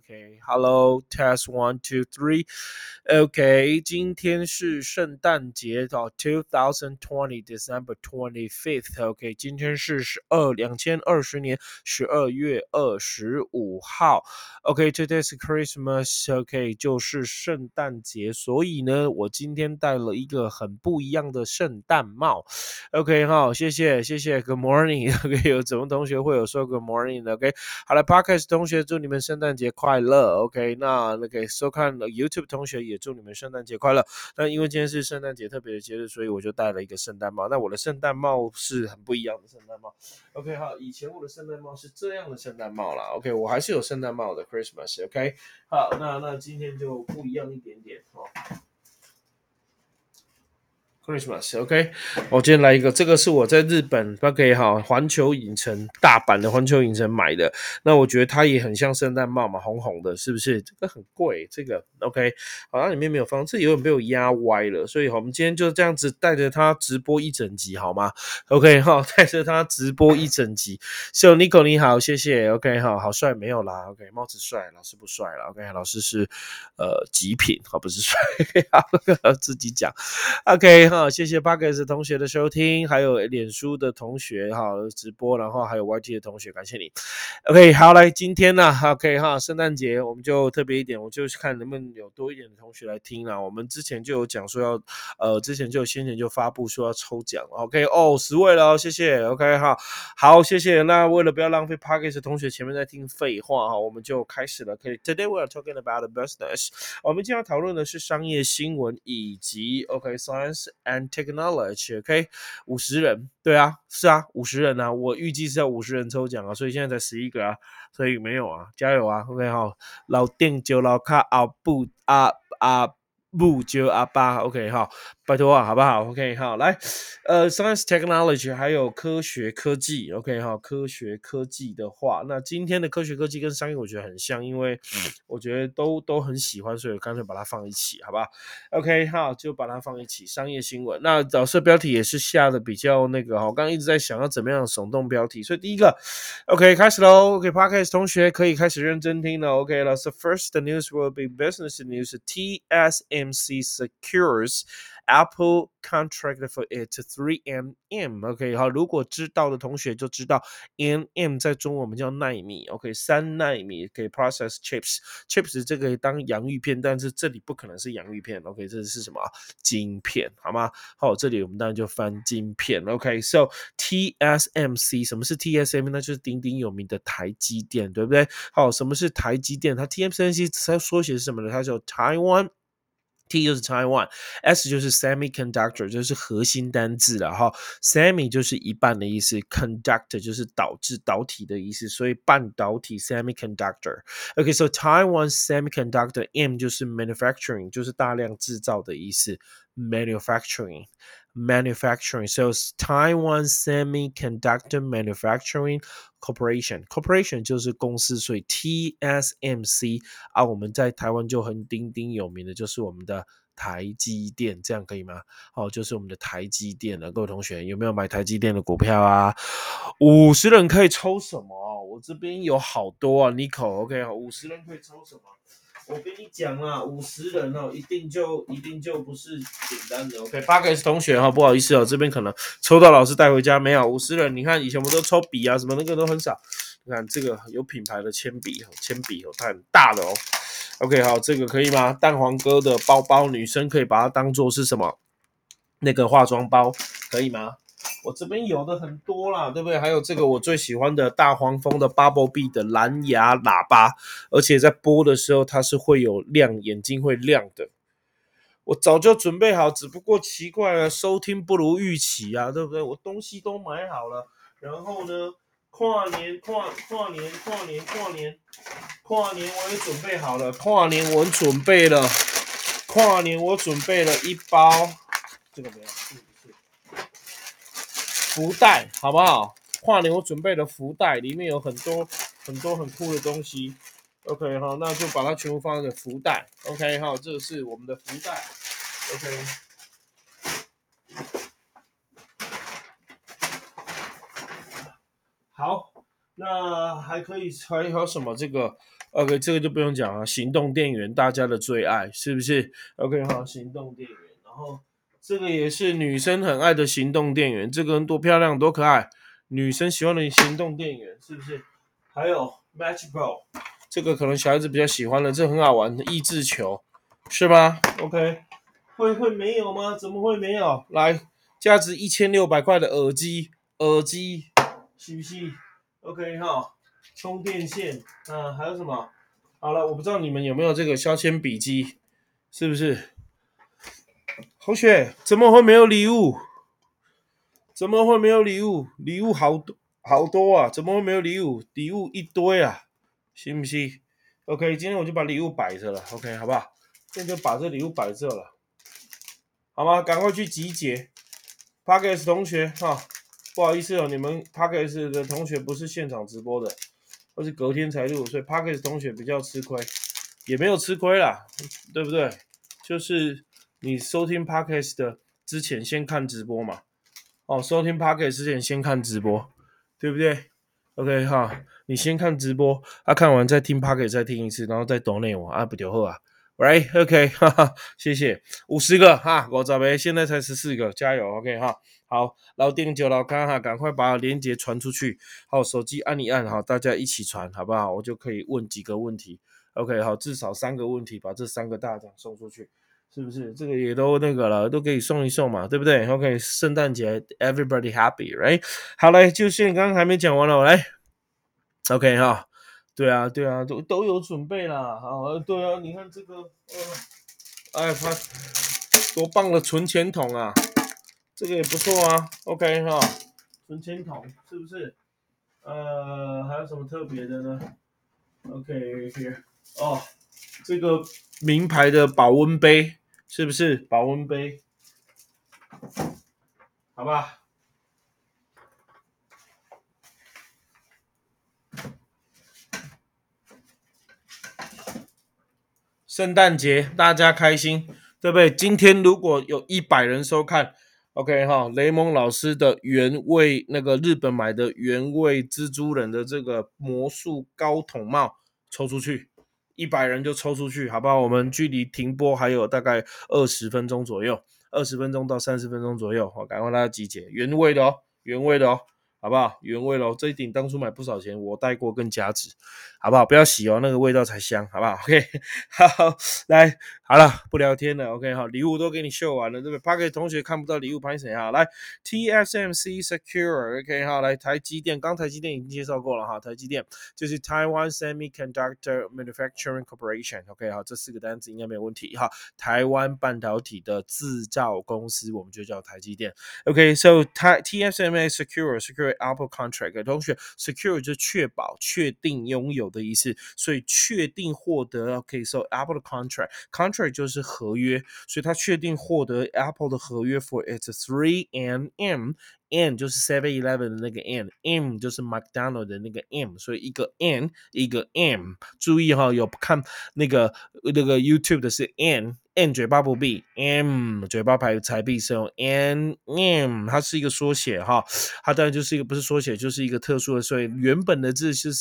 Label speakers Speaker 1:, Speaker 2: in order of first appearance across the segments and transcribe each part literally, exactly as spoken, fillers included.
Speaker 1: OK，Hello，、okay, test one two three，OK，、okay, 今天是圣诞节哦 ，two thousand twenty December twenty fifth，OK，、okay, 今天是十二两千二十年十二月二十五号 ，OK，Today、okay, is Christmas，OK，、okay, 就是圣诞节，所以呢，我今天戴了一个很不一样的圣诞帽 ，OK， 好，谢谢谢谢 ，Good morning，OK， 有什么同学会有说 Good morning，OK，、okay? 好了 ，Podcast 同学祝你们圣诞节快乐 ，OK， 那那个收看 YouTube 同学也祝你们圣诞节快乐。那因为今天是圣诞节特别的节日，所以我就戴了一个圣诞帽。那我的圣诞帽是很不一样的圣诞帽 ，OK， 好，以前我的圣诞帽是这样的圣诞帽啦 ，OK， 我还是有圣诞帽的 Christmas，OK，、okay? 好，那那今天就不一样一点点哦。Christmas，OK，、okay? 我今天来一个，这个是我在日本 OK 哈环球影城大阪的环球影城买的，那我觉得它也很像圣诞帽嘛，红红的，是不是？这个很贵，这个 OK， 好像里面没有放，这有点被我压歪了，所以我们今天就这样子带着它直播一整集好吗 ？OK 哈，带着它直播一整集。So Nico 你好，谢谢 OK 哈，好帅没有啦 OK， 帽子帅，老师不帅啦 OK， 老师是呃极品，好不是帅，好自己讲 OK。好，谢谢 Podcast 同学的收听，还有脸书的同学哈直播，然后还有 Y T 的同学，感谢你。OK， 好，来今天呢 ，OK 哈，圣诞节我们就特别一点，我就看能不能有多一点的同学来听啦。我们之前就有讲说要，呃，之前就有先前就发布说要抽奖 ，OK， 哦，十位了，谢谢 ，OK 哈，好，谢谢。那为了不要浪费 Podcast 同学前面在听废话哈，我们就开始了。可以 ，Today we are talking about the business， 我们今天要讨论的是商业新闻以及 OK Science。And technology，OK， 五十人，对啊，是啊，五十人啊，我预计是要五十人抽奖啊，所以现在才十一个啊，所以没有啊，加油啊 ，OK 哈，老店就老卡阿布阿阿布就阿巴 ，OK 哈，拜托啊，好不好 ？OK 好，来，呃，Science Technology 还有科学科技 ，OK 哈，科学科技的话，那今天的科学科技跟商业我觉得很像，因为我觉得都都很喜欢，所以我干脆把它放一起，好吧 ？OK 好，就把它放一起，商业新闻。那导师标题也是下的比较那个哈，我刚刚一直在想要怎么样耸动标题，所以第一个 ，OK 开始喽 ，OK，Podcast、okay, 同学可以开始认真听了 ，OK 了。So first the news will be business news. T S M C secures Apple contract for its three M M。OK， 好，如果知道的同学就知道 ，M M 在中文我们叫奈米 ，OK， 三奈米可以 process chips，chips 这个当洋芋片，但是这里不可能是洋芋片 ，OK， 这是什么？晶片，好吗？好，这里我们当然就翻晶片 ，OK，So、okay, T S M C 什么是 T S M C？ 那就是鼎鼎有名的台积电，对不对？好，什么是台积电？它 T S M C 它缩写是什么呢？它叫 Taiwan。T 就是 Taiwan，S 就是 Semiconductor， 就是核心单字了哈。Semi 就是一半的意思 ，Conductor 就是导致导体的意思，所以半导体 Semiconductor。OK，so、okay, Taiwan Semiconductor M 就是 Manufacturing， 就是大量制造的意思 ，Manufacturing。Manufacturing, so Taiwan Semiconductor Manufacturing Corporation, Corporation 就是公司，所以 T S M C 啊，我们在台湾就很鼎鼎有名的就是我们的台积电，这样可以吗？哦，就是我们的台积电了，各位同学有没有买台积电的股票啊？五十人可以抽什么？我这边有好多啊 ，Nico，OK， 五十人可以抽什么？我跟你讲啊，五十人哦，一定就一定就不是简单的。OK， 八个同学哈、哦，不好意思哦，这边可能抽到老师带回家没有？五十人，你看以前我们都抽笔啊，什么那个都很少。你看这个有品牌的铅笔，铅笔哦，它很大的哦。OK， 好，这个可以吗？蛋黄哥的包包，女生可以把它当做是什么？那个化妆包，可以吗？我这边有的很多啦，对不对？还有这个我最喜欢的大黄蜂的 Bumblebee 的蓝牙喇叭，而且在播的时候它是会有亮，眼睛会亮的。我早就准备好，只不过奇怪了，收听不如预期啊，对不对？我东西都买好了，然后呢，跨年跨跨年跨年跨年跨年我也准备好了，跨年我准备了，跨年我准备了一包，这个没有。福袋好不好？跨年我准备了福袋，里面有很多很多很酷的东西。OK 好，那就把它全部放在福袋。OK 好，这是我们的福袋。OK。好，那还可以还有什么？这个 OK，这个就不用讲了，行动电源大家的最爱，是不是 ？OK， 好，行动电源，然后这个也是女生很爱的行动电源，这个人多漂亮，多可爱，女生喜欢的行动电源，是不是？还有 Match Ball， 这个可能小孩子比较喜欢的，这很好玩的益智球，是吗 ？OK， 会会没有吗？怎么会没有？来，价值一千六百块的耳机，耳机，是不是 ？OK 哈。充电线，啊，还有什么？好了，我不知道你们有没有这个削铅笔机，是不是？同学，怎么会没有礼物？怎么会没有礼物？礼物好多好多啊，怎么会没有礼物？礼物一堆啊，信不信 ？OK， 今天我就把礼物摆着了 ，OK， 好不好？今天就把这礼物摆这了，好吗？赶快去集结 p a r k e s 同学哈，不好意思哦，你们 p a r k e s 的同学不是现场直播的。或是隔天才录，所以 Parkes 同学比较吃亏，也没有吃亏啦，对不对？就是你收听 Parkes 的之前先看直播嘛，哦，收听 Parkes 之前先看直播，对不对 ？OK 哈，你先看直播，啊，看完再听 Parkes 再听一次，然后再懂内我啊，不就好啊 ？Right OK， 哈哈，谢谢，五十个哈，我找呗，现在才十四个，加油 OK 哈。好，老丁九老康哈，赶快把链接传出去。好，手机按一按，好，大家一起传，好不好？我就可以问几个问题。OK，好，至少三个问题，把这三个大奖送出去，是不是？这个也都那个了，都可以送一送嘛，对不对 ？OK，圣诞节 everybody happy，right？ 好嘞，就是刚刚还没讲完了，我来。OK 哈，对啊，对啊，都都有准备啦。好，对啊，你看这个，呃，哎，他多棒的存钱筒啊！这个也不错啊 ，OK 哈，存钱筒是不是？呃，还有什么特别的呢 ？OK here， 哦，这个名牌的保温杯是不是？保温杯，好吧。圣诞节大家开心，对不对？今天如果有一百人收看。OK 哈，雷蒙老师的原味那个日本买的原味蜘蛛人的这个魔术高筒帽抽出去，一百人就抽出去，好不好？我们距离停播还有大概二十分钟左右，二十分钟到三十分钟左右，好，赶快大家集结，原味的哦，原味的哦，好不好？原味咯，这一顶当初买不少钱，我带过更加值，好不好？不要洗哦，那个味道才香，好不好 ？OK， 好，来，好了，不聊天了 ，OK， 好，礼物都给你秀完了，对不对 p a r k e 同学看不到礼物，拍谁啊？来 ，T S M C Secure，OK， 好，来，台积电，刚台积电已经介绍过了哈，台积电就是 Taiwan Semiconductor Manufacturing Corporation，OK， 好，这四个单词应该没有问题哈，台湾半导体的制造公司，我们就叫台积电 ，OK，So T S M C Secure Secure Apple Contract， 同学 Secure 就确保、确定拥有的意思，所以确定获得 OK，So Apple 的 Contract Contract 就是合约，所以他确定获得 Apple 的合约 for its three and M。N 就是 seven eleven 的那个 N，M 就是 McDonald 的那个 M， 所以一个 N 一个 M， 注意哈，有看那个那个 YouTube 的是 N，N 嘴巴不闭 ，M 嘴巴排才闭是用 N，M 它是一个缩写哈，它当然就是一个不是缩写，就是一个特殊的，所以原本的字就是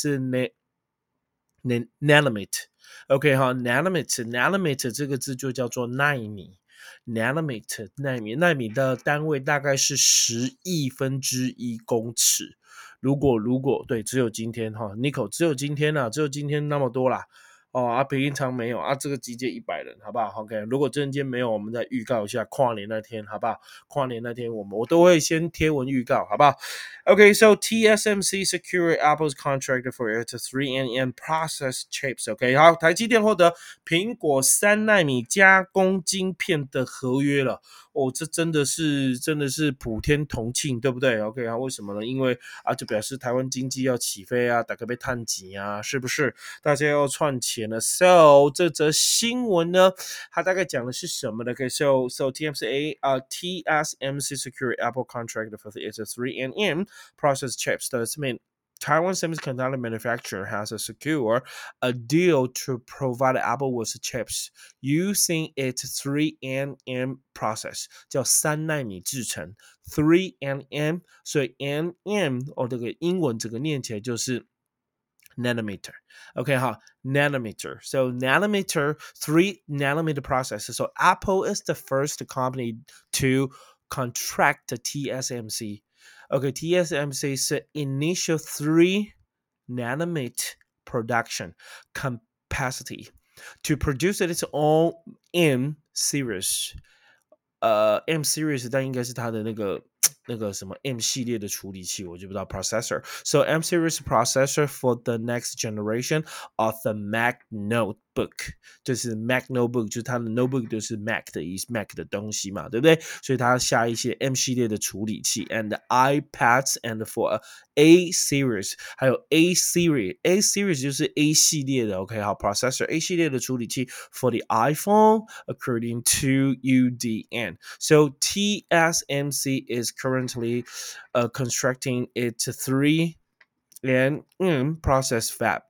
Speaker 1: nanometer。OK 哈 ，nanometer nanometer 这个字就叫做奈米 ，nanometer 奈米奈米的单位大概是十亿分之一公尺。如果如果对，只有今天哈 ，Nico 只有今天啊，只有今天那么多啦。哦啊，平常没有啊，这个集结一百人，好不好 ？OK， 如果真天没有，我们再预告一下跨年那天，好不好？跨年那天我们我都会先贴文预告，好不好 ？OK，so、okay, T S M C secured Apple's contract for its three N M process chips。OK， 好，台积电获得苹果三奈米加工晶片的合约了。哦，这真的是真的是普天同庆，对不对 ？OK 啊，为什么呢？因为啊，就表示台湾经济要起飞啊，大家被探级啊，是不是？大家要赚钱了。So 这则新闻呢，它大概讲的是什么呢 ？OK，so so T M C A 啊、uh, T S M C secure Apple contract for its three N M process chips. Does mean Taiwan semiconductor manufacturer has a secure a deal to provide Apple with chips using its three N M process， 叫三奈米制程 three N M， 所以 N M 哦，这个英文整个念起来就是 nanometer. Okay, huh? Nanometer. So nanometer, three nanometer process. So Apple is the first company to contract the T S M C. Okay, T S M C is the initial three nanometer production capacity to produce its own M series. 呃，M series 但应该是它的那个那个什么 M 系列的处理器，我就不知道 processor. So M series processor for the next generation of the Mac notebook， 就是 Mac notebook， 就是它的 notebook 就是 Mac 的意思 ，Mac 的东西嘛，对不对？所以它下一些 M 系列的处理器 ，and iPads and for A series， 还有 A series，A series 就是 A 系列的 ，OK， 好 processor A 系列的处理器 for the iPhone according to U D N. So T S M C is currently uh, constructing its three and mm, process fab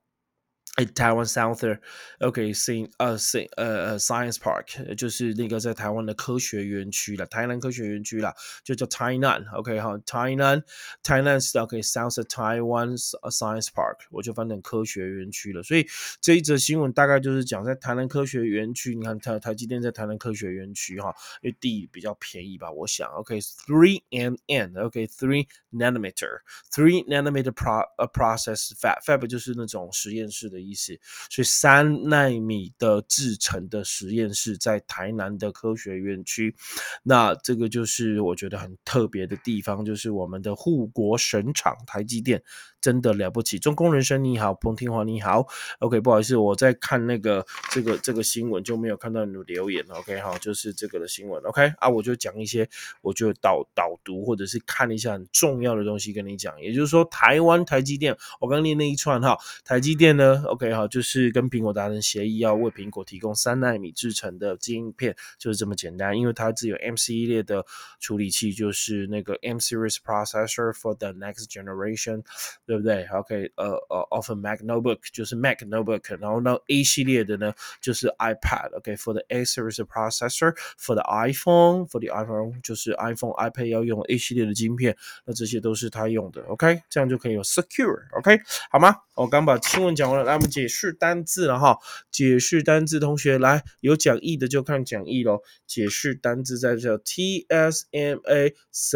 Speaker 1: at Taiwan South OK Sing 呃 Sing 呃呃 Science Park 就是那个在台湾的科学园区了，台南科学园区啦，就叫台南 OK 好，台南台南是 OK South Taiwan Science Park， 我就翻成科学园区了。所以这一则新闻大概就是讲在台南科学园区，你看台台积电在台南科学园区哈，因为地比较便宜吧，我想 OK three nm OK three nanometer three nanometer pro 呃 process fab fab 就是那种实验室的意思，所以三奈米的制程的实验室在台南的科学园区，那这个就是我觉得很特别的地方，就是我们的护国神厂台积电真的了不起。中工人生你好，彭天华你好 ，OK， 不好意思，我在看那个这个这个新闻就没有看到你的留言 ，OK， 好，就是这个的新闻 ，OK 啊，我就讲一些我就导导读或者是看一下很重要的东西跟你讲，也就是说台湾台积电，我刚念那一串哈，台积电呢 ，OK 好，就是跟苹果达成协议，要为苹果提供三奈米制成的晶片，就是这么简单，因为它只有 M 系列的处理器，就是那个 M series processor for the next generation， 对不对 ？OK， 呃呃 ，of a Mac notebook 就是 Mac notebook， 然后呢 A 系列的呢就是 iPad，OK，for the A series processor for the iPhone，for the iPhone 就是 iPhone、iPad 要用 A 系列的晶片，那这些都是它用的 ，OK， 这样就可以有 secure，OK， 好吗？我刚把新闻讲完了，来我们解释单字了哈。解释单字，同学来有讲义的就看讲义咯。解释单字在这 T S M A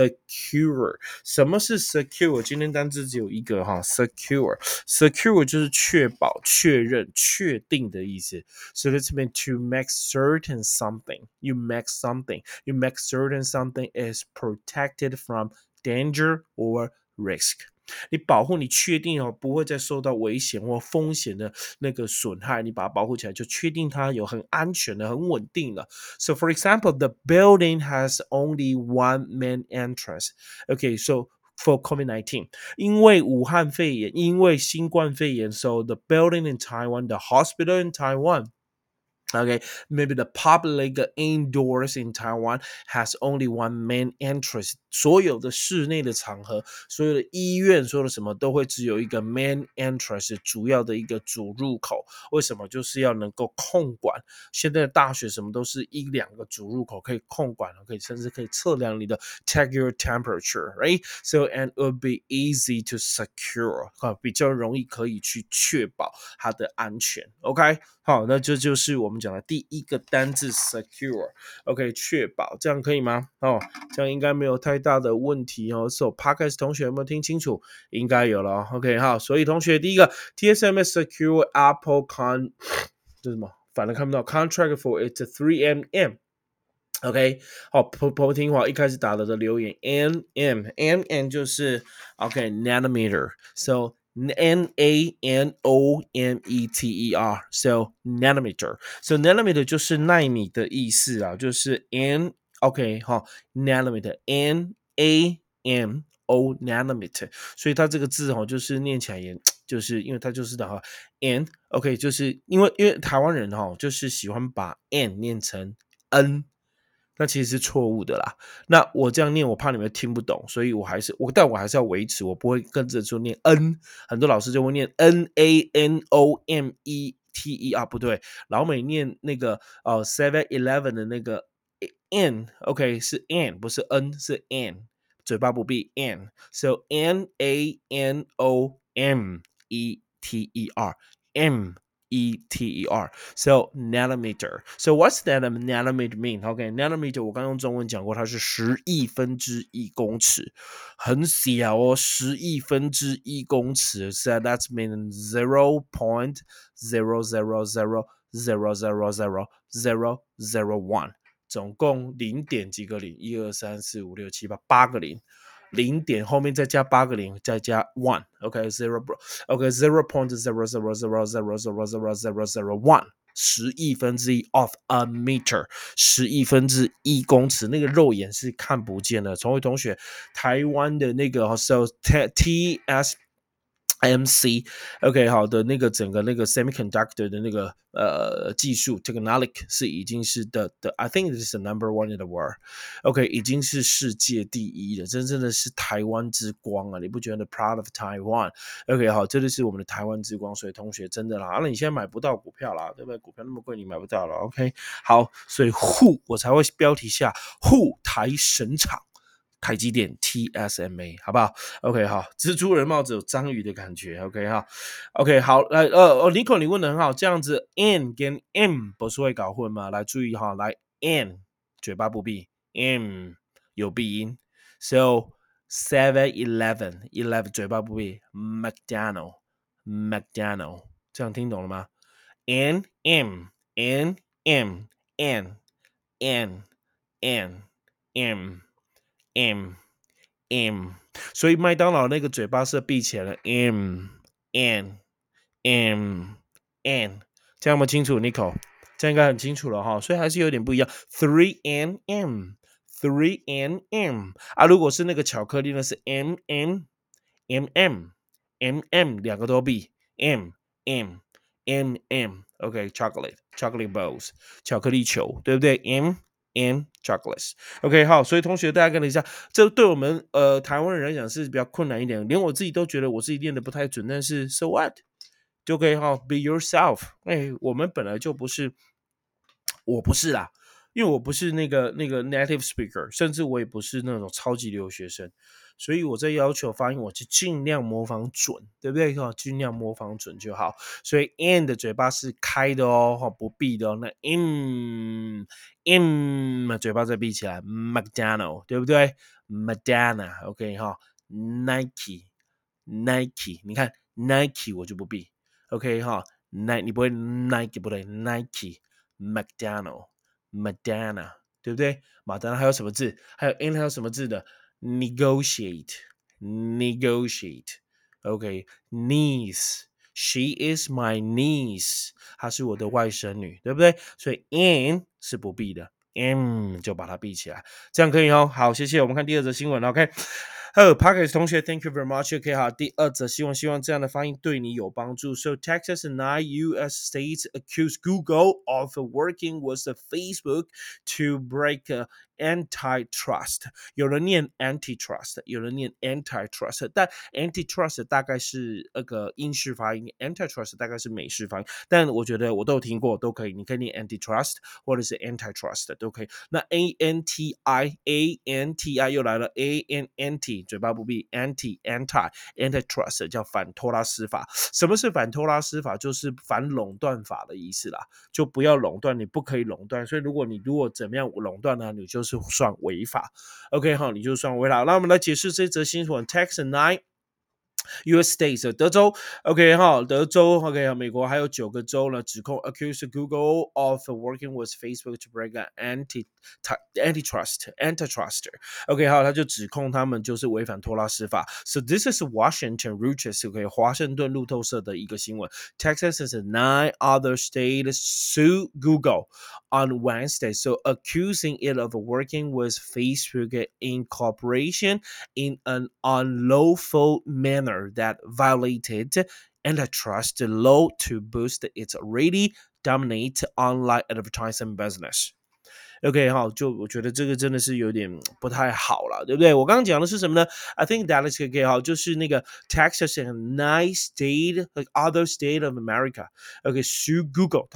Speaker 1: secure， 什么是 secure？ 今天单字只有一个哈 ，secure secure 就是确保、确认、确定的意思。So it's meant to make certain something. You make something. You make certain something is protected from danger or risk. 你保护你确定哦不会再受到危险或风险的那个损害，你把它保护起来，就确定它有很安全的、很稳定了。So for example, the building has only one main entrance. Okay, so for COVID nineteen, 因为武汉肺炎，因为新冠肺炎 so the building in Taiwan, the hospital in Taiwan,Okay, maybe the public indoors in Taiwan has only one main entrance. 所有的室内的场合，所有的医院，所有的什么都会只有一个 main entrance， 主要的一个主入口。为什么？就是要能够控管。现在的大学什么都是一两个主入口可以控管，可以甚至可以测量你的 check your temperature, right? So and it would be easy to secure， 比较容易可以去确保它的安全。OK， 好，那这就是我们讲的第一个单字 secure。OK， 确保，这样可以吗？哦，这样应该没有太大的问题哦。So Podcast 同学有没有听清楚？应该有了。OK， 好，所以同学第一个 T S M S secure Apple con 这是什么？反正看不到 contract for its three nm。OK， 好，婆婆听话，一开始打了的留言 nm nm 就是 OK nanometer，so N A N O M E T E R so nanometer so nanometer 就是奈米的意思啊，就是 N OK 好 nanometer N A M O nanometer， 所以它这个字哦，就是念起来也就是因为它就是的哈 N OK 就是因为因为台湾人哈就是喜欢把 N 念成 N。那其实是错误的啦。那我这样念，我怕你们听不懂，所以我还是我，但我还是要维持，我不会跟着说念 N。很多老师就会念 N A N O M E T E R， 不对，老美念那个呃 Seven Eleven 的那个 N，OK、okay, 是 N， 不是 N， 是 N， 嘴巴不闭 N，so N A N O M E T E R M E T E R so nanometer so what's that nanometer mean OK nanometer 我刚用中文讲过它是十亿分之一公尺很小哦十亿分之一公尺 so that's mean zero point zero zero zero zero zero zero zero zero one总共零点几个零一二三四五六七八八个零零点后面再加八个零，再加 one， OK zero OK zero point zero zero zero zero zero zero zero zero one， 十亿分之一 of a meter， 十亿分之一公尺，那个肉眼是看不见的。崇伟同学，台湾的那个 so T S M C OK 好的那个整个那个 semiconductor 的那个呃技术 technology 是已经是的的 I think this is the number one in the world OK 已经是世界第一了真正的是台湾之光啊你不觉得 proud of Taiwan OK 好这就是我们的台湾之光所以同学真的啦那、啊、你现在买不到股票啦对不对股票那么贵你买不到了 OK 好所以 who 我才会标题下 who 台神厂台积电 T S M A 好不好 OK 好蜘蛛人帽子有章鱼的感觉 OK 好 OK 好来呃哦 Nico 你问的很好这样子 N 跟 M 不是会搞混吗来注意哈来 N 嘴巴不闭 M 有闭音 So seven eleven eleven 嘴巴不闭 McDonald McDonald 这样听懂了吗 N M N M N N N M M M 所以麦当劳那个嘴巴是闭起来的 M N M N 这样有没有清楚 Nico 这样应该很清楚了哈所以还是有点不一样 three N M three N M 啊如果是那个巧克力呢是 M M M M M M 两个都闭 M M M M OK chocolate chocolate balls 巧克力球对不对 M and chocolates OK 好所以同学大家跟了一下这对我们呃台湾人来讲是比较困难一点连我自己都觉得我自己练的不太准但是 so what 就可以哈 be yourself 哎我们本来就不是我不是啦因为我不是那个那个 native speaker 甚至我也不是那种超级留学生所以我在要求发音我就尽量模仿准对不对尽量模仿准就好所以 N 的嘴巴是开的哦不闭的哦那 M M 嘴巴再闭起来 McDonald 对不对 Madonna OK 哈 Nike Nike 你看 Nike 我就不闭 OK 哈 Nike 你不会 Nike 不对 Nike McDonald Madonna 对不对马丹还有什么字还有 N 还有什么字的 negotiate negotiate OK niece she is my niece 她是我的外甥女对不对所以 N 是不闭的 M 就把它闭起来这样可以哦好谢谢我们看第二则新闻 OK 哦 Parkers 同学 Thank you very much OK 好第二则希望希望这样的发音对你有帮助 So Texas and nine U S states accuse Google of working with the Facebook to break uh, antitrust 有人念 antitrust 有人念 antitrust 但 antitrust 大概是那个英式发音 antitrust 大概是美式发音但我觉得我都有听过都可以你可以念 antitrust 或者是 antitrust 都可以那 A N T I A N T I 又来了 A N N T 嘴巴不闭 anti anti antitrust 叫反托拉斯法什么是反托拉斯法就是反垄断法的意思啦就不要垄断你不可以垄断所以如果你如果怎么样垄断呢你就是算违法 OK 好你就算违法那我们来解释这则新闻 Texas nine U S states 德州 OK 哈德州 OK 美国还有九个州呢指控 accuse Google of working with Facebook to break an anti antitrust antitrust OK 好他就指控他们就是违反托拉斯法 So this is Washington Reuters OK 华盛顿路透社的一个新闻 Texas and nine other states sue Google on Wednesday so accusing it of working with Facebook in cooperation in an unlawful manner that violated antitrust law to boost its already dominant online advertising business. OK 好就我觉得这个真的是有点不太好了对不对我刚刚讲的是什么呢 I think that is OK 好就是那个 Texas and nine state like other state of America OK sue Google 他们去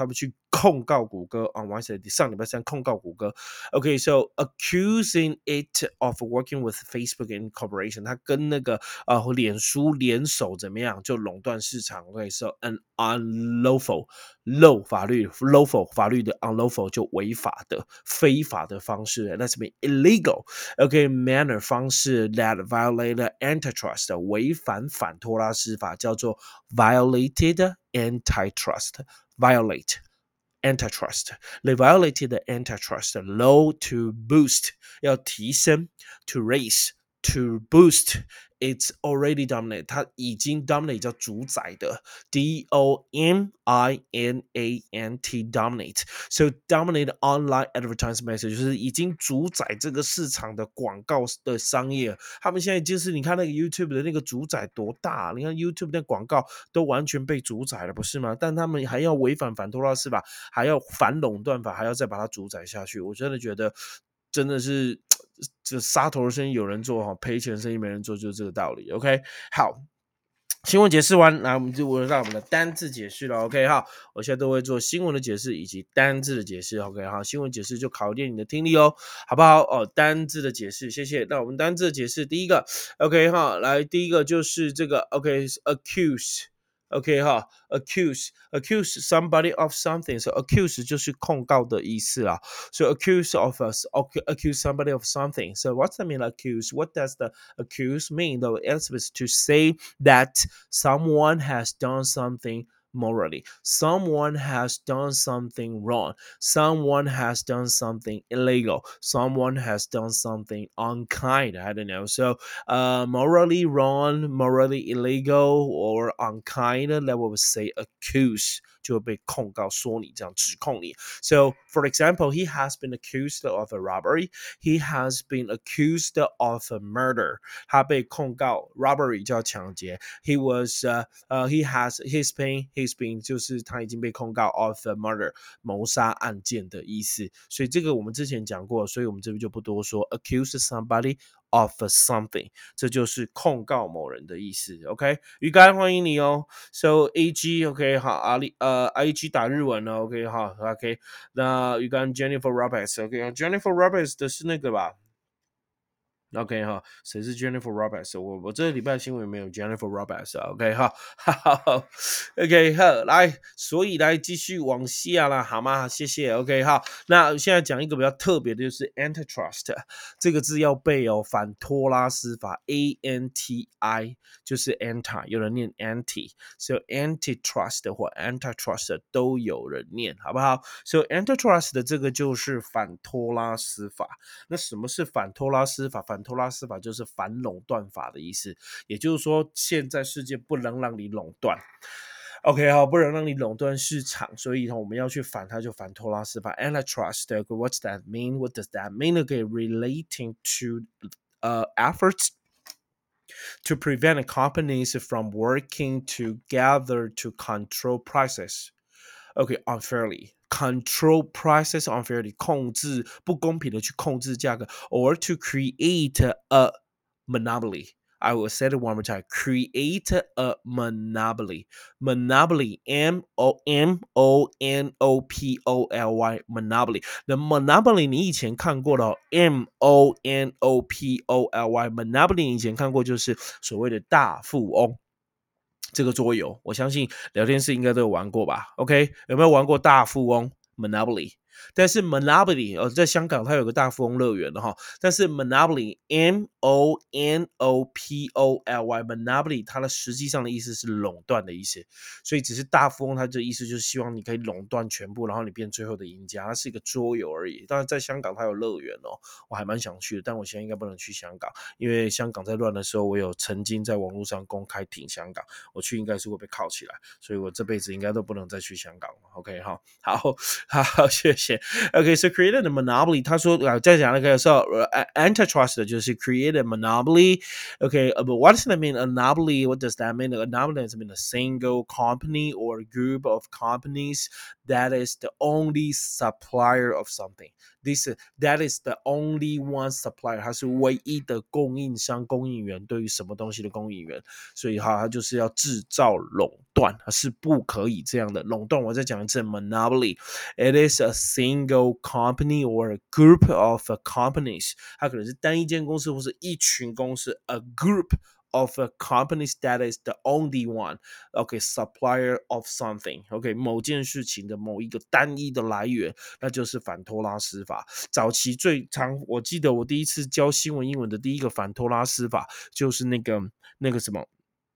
Speaker 1: 控告谷歌 on Wednesday 上礼拜三控告谷歌 OK so accusing it of working with Facebook in corporation 他跟那个呃脸书联手怎么样就垄断市场 OK so an unlawful low 法律 lawful 法律的 unlawful 就违法的非法的方式 that's mean illegal OK manner 方式 that violated antitrust 违反反托拉斯法叫做 violated antitrust violate antitrust they violated the antitrust law to boost 要提升 to raise to boost it's already dominate 它已经 dominate 叫主宰的 D O M I N A N T dominate so dominate online advertisement 就是已经主宰这个市场的广告的商业他们现在就是你看那个 YouTube 的那个主宰多大你看 YouTube 的广告都完全被主宰了不是吗但他们还要违反反托拉斯法还要反垄断法还要再把它主宰下去我真的觉得真的是这杀头的生意有人做赔钱的生意没人做就是这个道理 OK 好新闻解释完那我们就轮到我们的单字解释了 OK 好我现在都会做新闻的解释以及单字的解释 OK 好新闻解释就考验你的听力哦好不好哦单字的解释谢谢那我们单字的解释第一个 OK 好来第一个就是这个 OK accuse OK 哈 accuse accuse somebody of something so accuse 就是控告的意思啦 so accuse of us accuse somebody of something so what's the mean accuse what does the accuse mean the answer is to say that someone has done something morally someone has done something wrong someone has done something illegal someone has done something unkind I don't know so uh morally wrong morally illegal or unkind that would say accuse 就会被控告说你这样指控你 so for example he has been accused of a robbery he has been accused of a murder 他被控告 robbery 叫抢劫 he was uh, uh, he has he's been he's been 就是他已经被控告 of a murder 谋杀案件的意思所以这个我们之前讲过所以我们这边就不多说 accuse somebody of something 这就是控告某人的意思 OK 鱼竿欢迎你哦 so A G OK 好阿里呃 A G 打日文了 OK 好 OK 那鱼竿 Jennifer Roberts OK Jennifer Roberts 的是那个吧OK 哈，谁是 Jennifer Roberts？ 我我这个礼拜新闻没有 Jennifer Roberts 啊 OK 哈，哈哈 OK 好，来，所以来继续往下啦，好吗？谢谢 OK 好，那现在讲一个比较特别的，就是 antitrust 这个字要背哦，反托拉斯法 A N T I 就是 anti， 有人念 anti， 所以 antitrust 或 antitrust 都有人念，好不好？所以 antitrust 的这个就是反托拉斯法。那什么是反托拉斯法？反托拉斯法就是反垄断法的意思，也就是说，现在世界不能让你垄断。OK 好，不能让你垄断市场，所以我们要去反它，就反托拉斯法 antitrust. What's that mean? What does that mean? Okay, relating to uh efforts to prevent companies from working together to control prices. Okay, unfairly. Control prices unfairly 控制不公平的去控制价格 or to create a monopoly. I will say it one more time. Create a monopoly. Monopoly. M O M O N O P O L Y. Monopoly. The monopoly 你以前看过了 M O N O P O L Y. Monopoly 你以前看过就是所谓的大富翁。这个桌游，我相信聊天室应该都有玩过吧 ？OK， 有没有玩过大富翁 Monopoly？但是 Monopoly 哦，在香港它有个大富翁乐园的哈，但是 Monopoly M O N O P O L Y Monopoly 它的实际上的意思是垄断的意思，所以只是大富翁它的意思就是希望你可以垄断全部，然后你变最后的赢家，它是一个桌游而已。当然在香港它有乐园哦，我还蛮想去的，但我现在应该不能去香港，因为香港在乱的时候，我有曾经在网络上公开挺香港，我去应该是会被铐起来，所以我这辈子应该都不能再去香港了。OK 哈，好好，谢谢。 谢。Okay, so created a monopoly. 他说啊，再讲那个时候呃，antitrust 就是 create a monopoly. Okay, but what does that mean? A monopoly. What does that mean? A monopoly does mean a single company or group of companies that is the only supplier of something. This that is the only one supplier. 它是唯一的供应商、供应源，对于什么东西的供应源。所以哈，它就是要制造垄断，它是不可以这样的垄断。我再讲一次 ，monopoly. It is a single company or a group of companies. 它可能是单一间公司，或是一群公司。A group of companies that is the only one, okay, supplier of something, okay, 某件事情的某一个单一的来源，那就是反托拉斯法。早期最常，我记得我第一次教新闻英文的第一个反托拉斯法，就是那个那个什么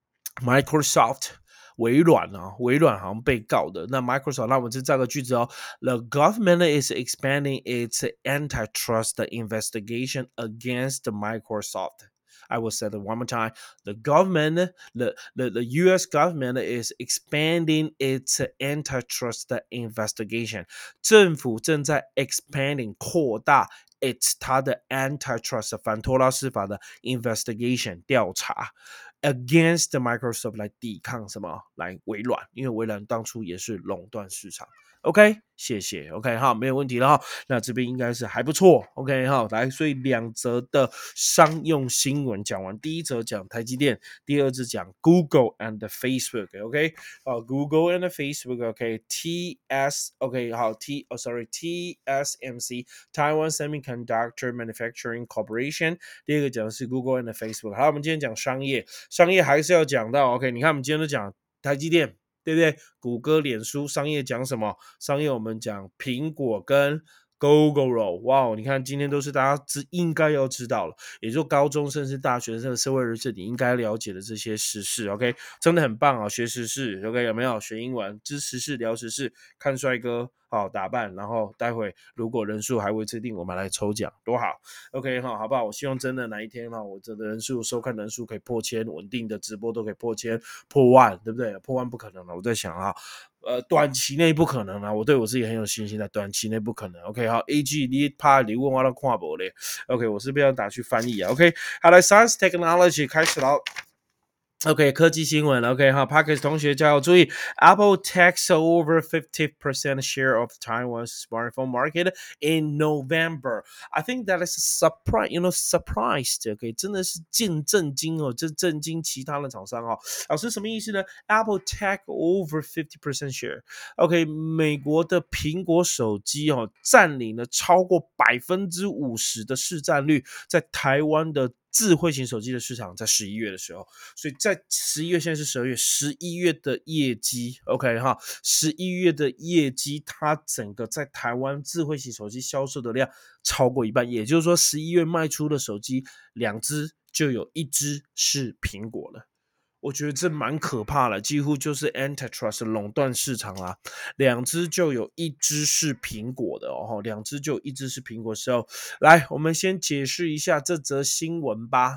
Speaker 1: Microsoft。微软啊，微软好像被告的。那 Microsoft， 那我们就造个句子哦。The government is expanding its antitrust investigation against Microsoft. I will say that one more time. The government, the, the, the U S government is expanding its antitrust investigation. 政府正在 expanding 扩大 its 它的 antitrust 反托拉斯法的 investigation 调查。Against Microsoft 来抵抗什么？来微软，因为微软当初也是垄断市场。OK， 谢谢。OK， 好，没有问题了哈。那这边应该是还不错。OK， 好，来，所以两则的商用新闻讲完，第一则讲台积电，第二则讲 Google and Facebook。OK， 好 ，Google and Facebook。OK，T S，OK， 好 ，T， 哦 ，sorry，T S M C Taiwan Semiconductor Manufacturing Corporation。第二个讲的是 Google and Facebook。好，我们今天讲商业，商业还是要讲到。OK， 你看我们今天都讲台积电。对不对？谷歌、脸书，商业讲什么？商业我们讲苹果跟 Google。哇，你看今天都是大家知应该要知道了，也就高中甚至大学生的社会人士你应该了解的这些时事。OK， 真的很棒啊！学时事 ，OK 有没有？学英文，知时事，聊时事，看帅哥。好打扮，然后待会如果人数还未制定，我们来抽奖，多好 ！OK 哈，好不好？我希望真的哪一天哈，我这的人数收看人数可以破千，稳定的直播都可以破千、破万，对不对？破万不可能了，我在想啊，呃，短期内不可能啊，我对我自己很有信心的，短期内不可能。OK 好 ，A G 你怕你问我都看不嘞 ？OK， 我是不是要打去翻译啊 ？OK， 好来 ，Science Technology 开始了。OK， 科技新闻 OK 哈 Parkers 同学加油注意 Apple takes over fifty percent share of Taiwan's smartphone market in November. I think that is a surprise, you know, surprised. OK， 真的是见震惊哦，这震惊其他的厂商哦。老师什么意思呢 ？Apple take over fifty percent share. OK， 美国的苹果手机哦，占领了超过百分之五十的市占率，在台湾的智慧型手机的市场，在十一月的时候，所以在十一月，现在是十二月，十一月的业绩 ，OK 哈，十一月的业绩，它整个在台湾智慧型手机销售的量超过一半，也就是说，十一月卖出的手机两只就有一只是苹果了。我觉得这蛮可怕的，几乎就是 antitrust 垄断市场啦，两只就有一只是苹果的哦，两只就有一只是苹果时候，来，我们先解释一下这则新闻吧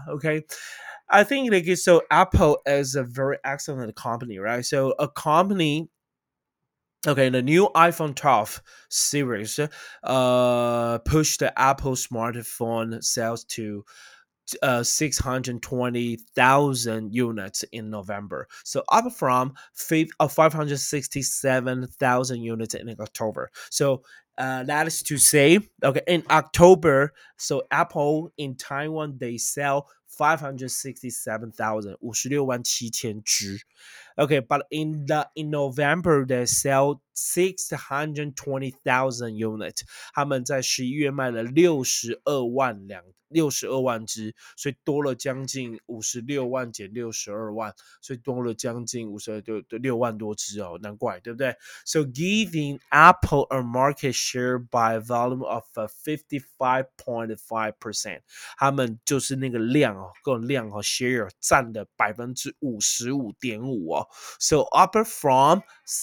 Speaker 1: ，OK。I think like so Apple is a very excellent company, right? So a company Okay, the new iPhone twelve series uh pushed the Apple smartphone sales to uh, six hundred twenty thousand units in November. So up from uh, five hundred sixty-seven thousand units in October. So uh, that is to say, okay, in October, so Apple in Taiwan, they sell five hundred sixty-seven thousand, 五十六万七千只 Okay, but in the in November they sell six hundred twenty thousand units. 他们在十一月卖了六十二万两六十二万只，所以多了将近五十六万减六十二万，所以多了将近五十二六六万多只哦，难怪对不对 ？So giving Apple a market share by volume of fifty-five point five percent， 他们就是那个量哦，各种量哦 ，share 占的百分之五十五点五哦。 好 ，so up from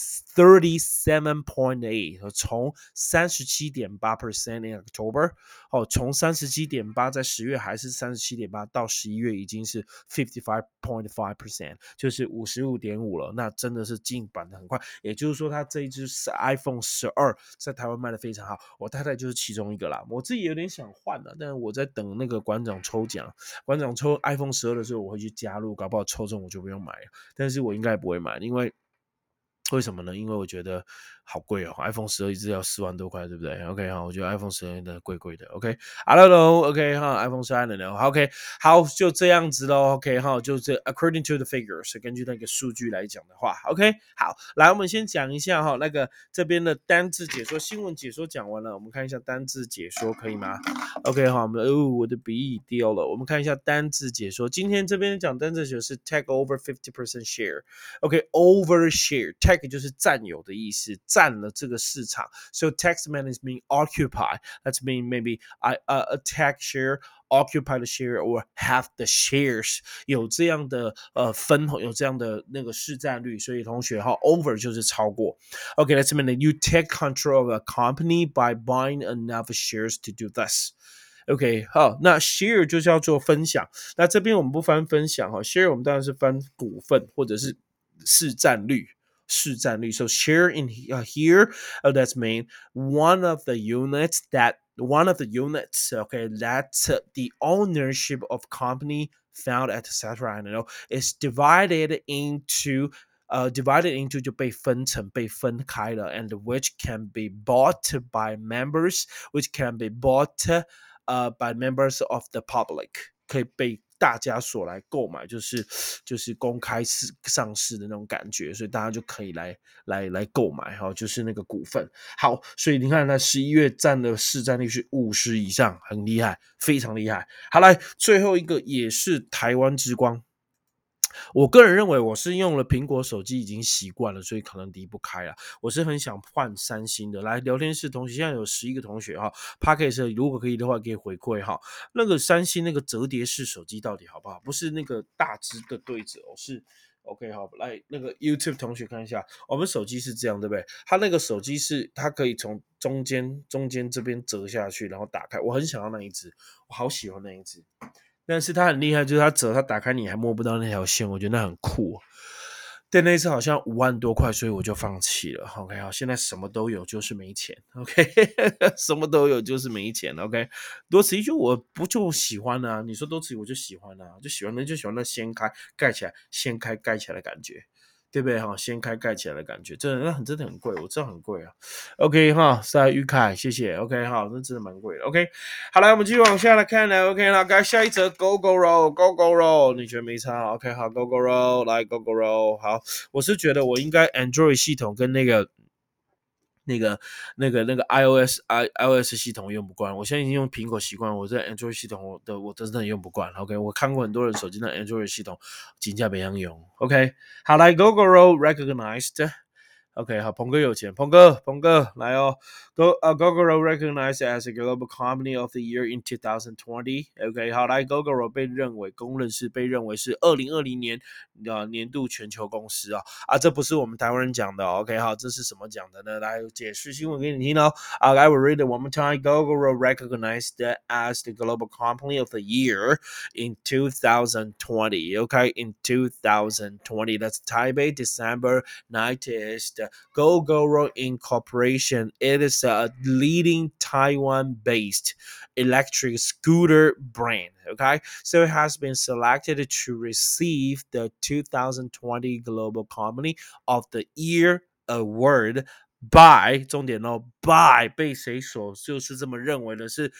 Speaker 1: thirty-seven point eight， 从三十七点八 percent in October， 哦，从三十七点八在十月还是三十七点八，到十一月已经是 fifty-five point five percent， 就是五十五点五了，那真的是进版的很快。也就是说，它这一支 iPhone 十二在台湾卖的非常好，我太太就是其中一个啦。我自己有点想换了，但是我在等那个馆长抽奖，馆长抽 iPhone 十二的时候，我会去加入，搞不好抽中我就不用买了，但是我应该不会买，因为为什么呢？因为我觉得好贵哦 ，iPhone 十二一支要四万多块，对不对 ？OK 哈，我觉得 iPhone 十二的贵贵的。OK，I don't know，OK 哈 ，iPhone 十二 I don't know，OK，好，就这样子咯 OK 哈，就这 according to the figures， 根据那个数据来讲的话 ，OK， 好，来我们先讲一下哈，那个这边的单字解说、新闻解说讲完了，我们看一下单字解说可以吗 ？OK 哈，我们哦，我的笔已掉了，我们看一下单字解说，今天这边讲单字解说是 take over fifty percent share，OK，over share。take 就是占有的意思，占了这个市场。So text man is mean occupy. That's mean maybe I uh, attack share, occupy the share, or have the shares. 有这样的呃分，有这样的那个市占率，所以同学哈 over 就是超过。Okay, that's mean that you take control of a company by buying enough shares to do this.OK， 好，那 share 就叫做分享。那这边我们不翻分享哈 ，share 我们当然是翻股份或者是市占率。市占率 so share in uh, here uh, that's mean one of the units that one of the units okay that's uh, the ownership of company found at etc I don't know is divided into uh, divided into 就被分成被分开了 and which can be bought by members which can be bought uh, by members of the public 可以被大家所来购买，就是就是公开市上市的那种感觉，所以大家就可以来来来购买哈，就是那个股份。好，所以你看，那十一月占的市占率是五十以上，很厉害，非常厉害。好，来最后一个也是台湾之光。我个人认为我是用了苹果手机已经习惯了，所以可能离不开了。我是很想换三星的。来，聊天室同学现在有十一个同学哈 ，Podcast 如果可以的话，可以回馈哈。那个三星那个折叠式手机到底好不好？不是那个大只的对折哦，是 OK 好。来，那个 YouTube 同学看一下，我们手机是这样对不对？它那个手机是它可以从中间中间这边折下去，然后打开。我很想要那一只，我好喜欢那一只。但是它很厉害，就是它折，它打开你还摸不到那条线，我觉得那很酷。但那次好像五万多块，所以我就放弃了。OK， 好，现在什么都有，就是没钱。OK， 什么都有，就是没钱。OK， 多此一举，我不就喜欢啊？你说多此一举，我就喜欢啊，就喜欢那就喜欢那掀开盖起来，掀开盖起来的感觉。对不对哈？掀开盖起来的感觉，真的那很真的很贵，我知道很贵啊。OK 哈，在玉凯，谢谢。OK 哈，那真的蛮贵的。OK， 好来，我们继续往下来看呢。OK， 好，该下一则 Go Go Roll Go Go Roll， 你觉得没差 ？OK， 好 ，Go Go Roll， 来 Go Go Roll， 好，我是觉得我应该 Android 系统跟那个。那个、那个、那个 iOS、i iOS 系统用不惯，我现在已经用苹果习惯，我在 Android 系统我的我真的用不惯。OK， 我看过很多人手机的 Android 系统，真的不想用。OK， 好来 ，Gogoro recognized。OK， 好，鹏哥有钱，鹏哥，鹏哥来哦。Go, uh, Gogoro recognized as a global company of the year in twenty twenty。OK， 好来 ，Gogoro 被认为公认是被认为是二零二零年的年度全球公司啊啊，这不是我们台湾人讲的、哦。OK， 好，这是什么讲的呢？来解释新闻给你听哦。Uh, I will read it one more time. Gogoro recognized as the global company of the year in twenty twenty. OK, in twenty twenty, that's Taipei, December nineteenth. Gogoro Incorporation. It is a leading Taiwan-based electric scooter brand. Okay, so it has been selected to receive the twenty twenty Global Company of the Year Award by 重点哦 by 被谁所就是这么认为的是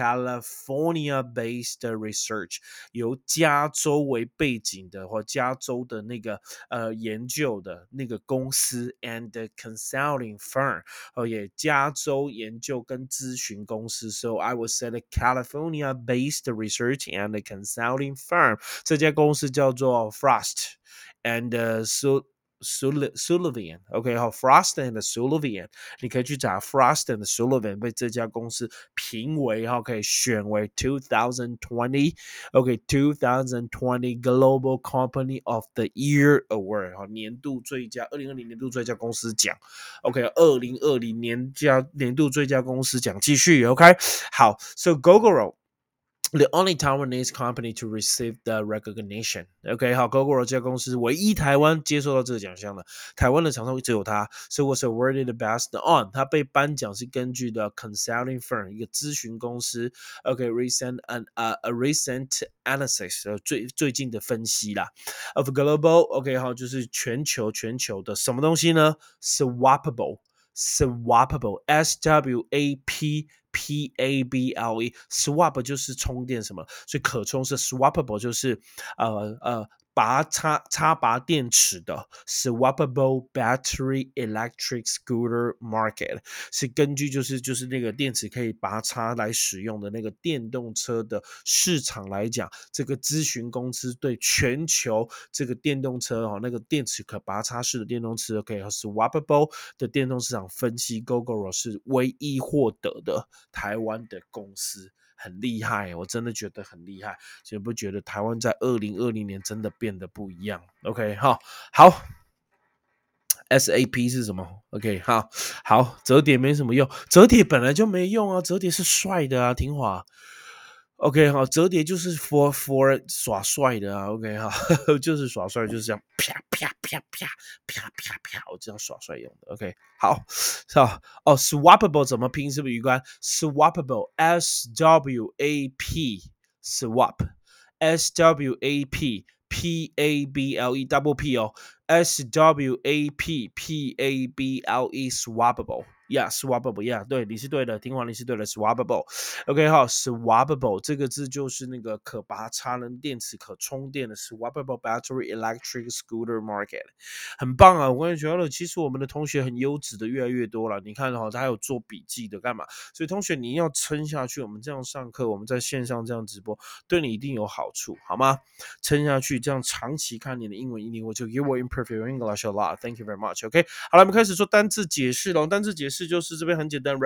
Speaker 1: California-based research 由加州为背景的或加州的那个呃研究的那个公司 and consulting firm 哦也加州研究跟咨询公司 so I would say the California-based research and consulting firm 这家公司叫做 Frost and、uh, so Sullivan，OK， 好 ，Frost and Sullivan，你可以去找 Frost and Sullivan 被这家公司评为哈，可以选为twenty twenty，OK，two thousand twenty Global Company of the Year Award， 哈，年度最佳，二零二零年度最佳公司奖 ，OK， 二零二零年佳年度最佳公司奖，继续 ，OK， 好 ，So Gogoro。The only Taiwanese company to receive the recognition. OK， 好 ，Gogoro 这家公司唯一台湾接受到这个奖项的，台湾的厂商只有它 ，so was awarded the best on。它被颁奖是根据的 consulting firm 一个咨询公司 ，OK，recent an a a recent analysis 最最近的分析啦 of global OK 好，就是全球全球的什么东西呢 ？Swappable。Swappable, S W A P P A B L E, swap 就是充电什么，所以可充是 swappable 就是呃呃拔插插拔电池的 swappable battery electric scooter market 是根据就是就是那个电池可以拔插来使用的那个电动车的市场来讲，这个咨询公司对全球这个电动车哦那个电池可拔插式的电动车 OK swappable 的电动市场分析 Gogoro 是唯一获得的台湾的公司。很厉害，我真的觉得很厉害，所以不觉得台湾在二零二零年真的变得不一样 ？OK， 好，好 ，S A P 是什么 ？OK， 好，好，折叠没什么用，折叠本来就没用啊，折叠是帅的啊，挺华。OK， 好，折叠就是 for for 耍帅的啊。OK， 好，就是耍帅，就是这样啪啪啪啪啪啪啪，我这样耍帅用的。OK， 好，好哦，swappable 怎么拼？是不是鱼竿 ？swappable S W A P swap，S W A P P A B L E double P 哦 ，S W A P P A B L E swappable。Yeah, swappable, yeah， 对，你是对的，听完你是对的 ，swappable。OK， 好 ，swappable 这个字就是那个可拔插能电池、可充电的 swappable battery electric scooter market， 很棒啊！我跟你觉得，其实我们的同学很优质的越来越多了。你看哈、哦，他还有做笔记的，干嘛？所以同学你要撑下去，我们这样上课，我们在线上这样直播，对你一定有好处，好吗？撑下去，这样长期看你的英文一定会就 You will improve your English a lot. Thank you very much. OK， 好了，我们开始做单字解释喽。单字解释就是这边很简单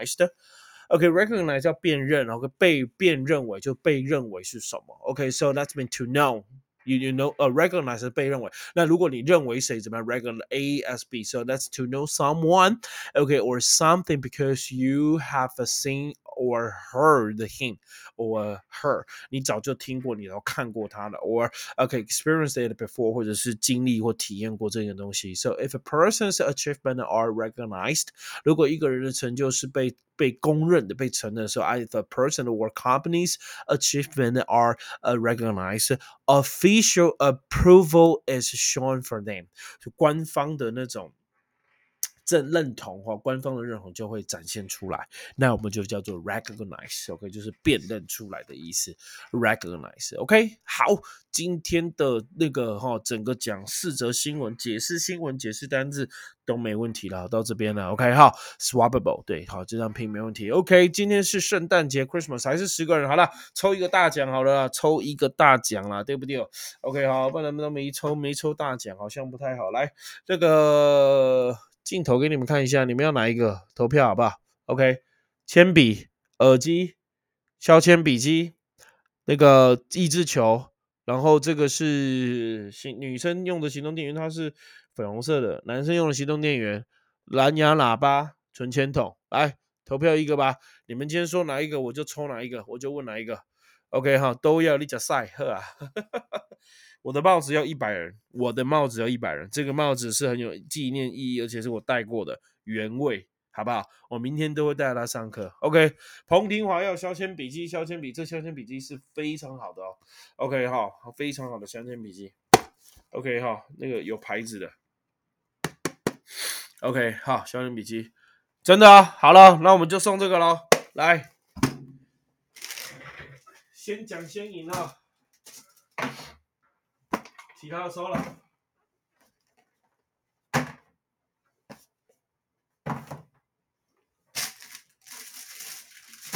Speaker 1: ，recognized。OK，recognize、okay, 要辨认，然后被辨认为就被认为是什么。OK，so、okay, that's mean to know。You you know 呃、uh, recognize 是被认为，那如果你认为谁怎么样 recognize A as B，so that's to know someone okay or something because you have seen or heard him or her， 你早就听过，你都看过他的 ，or okay experienced it before， 或者是经历或体验过这个东西。So if a person's achievement are recognized， 如果一个人的成就是被被公认的、被承认的时候 ，if a person or company's achievement are、uh, recognized， official approval is shown for them， 就官方的那种正认同哈，官方的认同就会展现出来，那我们就叫做 recognize，OK，、okay? 就是辨认出来的意思 ，recognize，OK，、okay? 好，今天的那个哈，整个讲四则新闻、解释新闻、解释单字都没问题了，到这边了 ，OK， 好 ，swappable， 对，好，这张拼没问题 ，OK， 今天是圣诞节 ，Christmas 还是十个人，好了，抽一个大奖好了啦，抽一个大奖啦，对不对 ？OK， 好，不然都没抽，没抽大奖，好像不太好，来，这个。镜头给你们看一下，你们要哪一个投票好不好 ？OK， 铅笔、耳机、削铅笔机、那个益智球，然后这个是女生用的行动电源，它是粉红色的；男生用的行动电源，蓝牙喇叭、存钱筒。来投票一个吧，你们今天说哪一个，我就抽哪一个，我就问哪一个。OK 哈，都要你讲赛呵啊。我的帽子要一百人，我的帽子要一百人，这个帽子是很有纪念意义，而且是我戴过的原味，好不好？我明天都会带他上课。OK， 彭廷华要削铅笔机，削铅笔，这削铅笔机是非常好的哦。OK 哈，非常好的削铅笔机。OK 哈，那个有牌子的。OK 好，削铅笔机，真的啊，好了，那我们就送这个咯。来，先讲先赢啊。其他的收了。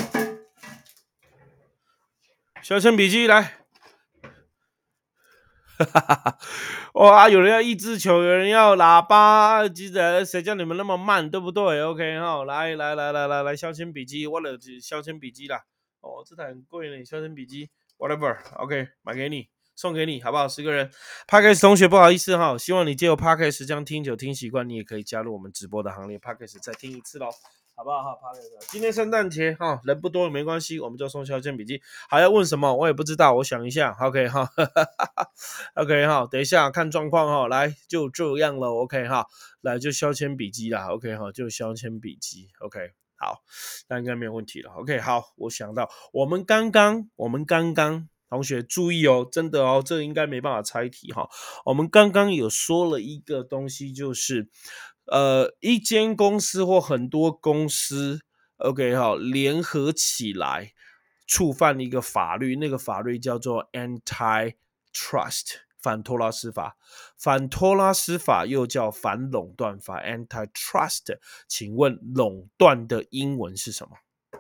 Speaker 1: 削铅笔机来， 哇，有人要益智球，有人要喇叭，记得谁叫你们那么慢，对不对 ？OK 哈，来来来来来来，削铅笔机，我的削铅笔机啦。哦，这台很贵呢，削铅笔机，whatever，OK，、okay, 买给你，送给你，好不好？十个人 ，Podcast 同学不好意思哈，希望你借由 Podcast 这样听久听习惯，你也可以加入我们直播的行列 ，Podcast 再听一次喽。好不好？好，今天圣诞节哈，人不多没关系，我们就送削铅笔机。还要问什么？我也不知道，我想一下。OK 哈，OK 哈，等一下看状况哈。来，就这样了。OK 哈，来就削铅笔机啦。OK 哈，就削铅笔机。OK，好，那应该没有问题了。OK，好，我想到我们刚刚，我们刚刚同学注意哦，真的哦，这应该没办法猜题哈。我们刚刚有说了一个东西，就是。呃，一间公司或很多公司 ，OK 好，联合起来触犯一个法律，那个法律叫做 Antitrust 反托拉斯法。反托拉斯法又叫反垄断法 Antitrust。请问垄断的英文是什么？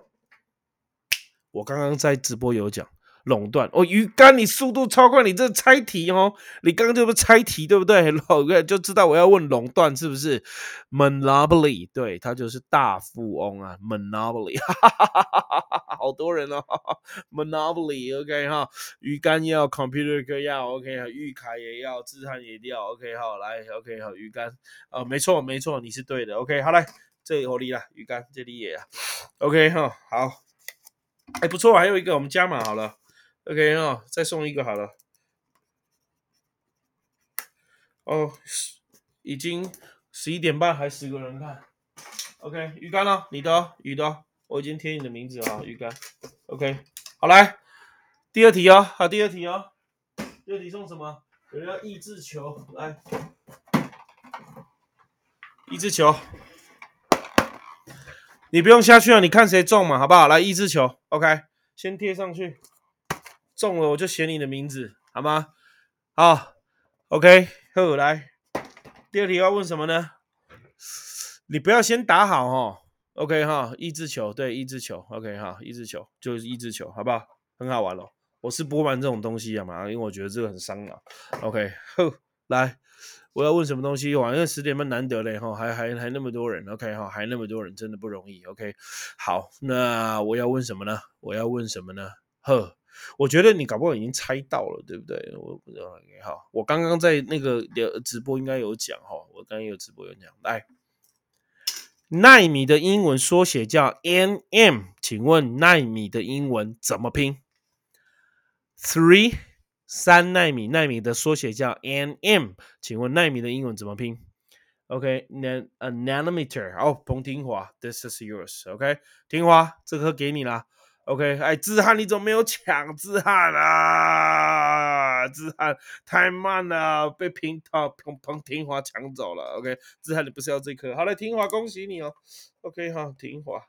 Speaker 1: 我刚刚在直播有讲。垄断哦，鱼竿，你速度超快，你这猜题哦，你刚刚就是猜题对不对？就知道我要问垄断是不是 ？Monopoly， 对，它就是大富翁啊 ，Monopoly， 好多人哦 ，Monopoly，OK、okay, 哈，鱼竿要 ，Computer 哥要 ，OK 哈，玉凯也要，志汉也要 ，OK 好，来 ，OK 好，鱼竿，哦，没错没错，你是对的 ，OK 好来，这里火力啦，鱼竿这里也啊 ，OK 哈，好，哎不错，还有一个我们加码好了。OK 哦，再送一个好了。哦，已经十一点半，还十个人看。OK， 鱼竿哦，你的哦，鱼的哦，我已经贴你的名字了，鱼竿。OK， 好来，第二题哦，好，第二题哦，第二题送什么？有人要益智球，来，益智球，你不用下去了，你看谁中嘛，好不好？来，益智球 ，OK， 先贴上去，中了我就写你的名字，好吗？好 ，OK， 好，来，第二题要问什么呢？你不要先打好哦 OK 哈，益智球对益智球 OK 哈，益智球就是益智球，好不好？很好玩咯。我是不玩这种东西啊嘛，因为我觉得这个很伤脑。OK， 呵，来，我要问什么东西？哇，因为十点半难得嘞哈，还还还那么多人 OK 哈，还那么多人，真的不容易 OK。好，那我要问什么呢？我要问什么呢？呵。我觉得你搞不好已经猜到了，对不对？我不知道，好，我刚刚在那个直播应该有讲哈，我刚刚有直播有讲，来，奈米的英文缩写叫 N M， 请问奈米的英文怎么拼 ？Three 三奈米，奈米的缩写叫 N M， 请问奈米的英文怎么拼 ？OK， nan a nanometer， 哦，彭廷华 ，This is yours，OK， 廷华，这颗给你啦。OK， 哎，志汉你怎么没有抢？志汉啊，志汉太慢了，被平到彭彭廷华抢走了。OK， 志汉你不是要这颗？好了，廷华恭喜你哦。OK 哈，廷华。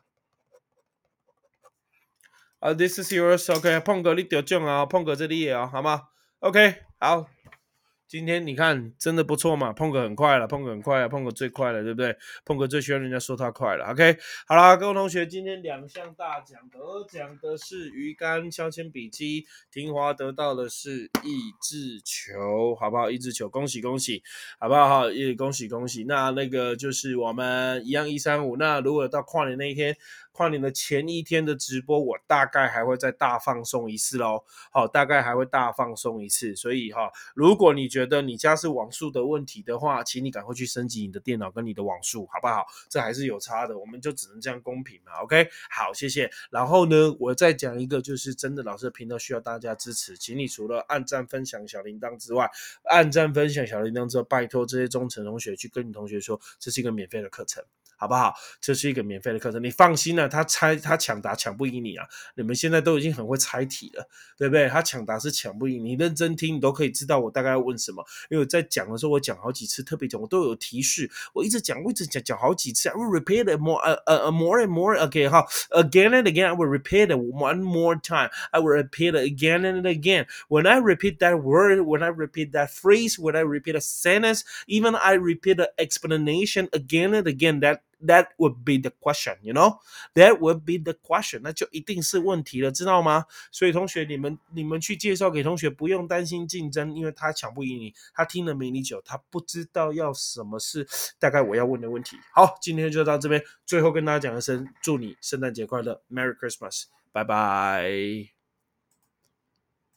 Speaker 1: 啊、uh, ，This is yours。OK， 碰哥你得奖啊，碰哥这里也啊，好吗 ？OK， 好。今天你看真的不错嘛，碰哥很快了，碰哥很快了，碰哥最快了，对不对？碰哥最喜欢人家说他快了。OK， 好啦，各位同学，今天两项大奖，得奖的是鱼竿削铅笔机，廷华得到的是益智球，好不好？益智球，恭喜恭喜，好不好？也恭喜恭喜。那那个就是我们一样一三五，那如果到跨年那一天。跨年的前一天的直播，我大概还会再大放送一次咯。好，大概还会大放送一次。所以哈，如果你觉得你家是网速的问题的话，请你赶快去升级你的电脑跟你的网速，好不好？这还是有差的，我们就只能这样公平嘛。OK， 好，谢谢。然后呢，我再讲一个，就是真的老师的频道需要大家支持，请你除了按赞、分享小铃铛之外，按赞、分享小铃铛之后，拜托这些忠诚同学去跟你同学说，这是一个免费的课程。好不好？这是一个免费的课程，你放心了、啊，他猜他抢答抢不赢你啊！你们现在都已经很会猜题了，对不对？他抢答是抢不赢你，认真听你都可以知道我大概要问什么。因为我在讲的时候，我讲好几次，特别讲我都有提示，我一直讲，我一直讲讲好几次。I will repeat it more, uh, uh, more and more. Okay, 好 ，again and again. I will repeat it one more time. I will repeat it again and again. When I repeat that word, when I repeat that phrase, when I repeat a sentence, even I repeat an explanation again and again. That that would be the question, you know? That would be the question. 那就一定是问题了，知道吗？所以同学，你们你们去介绍给同学，不用担心竞争，因为他抢不赢你，他听了没你久，他不知道要什么是大概我要问的问题。好，今天就到这边，最后跟大家讲一声，祝你圣诞节快乐 ，Merry Christmas，拜拜。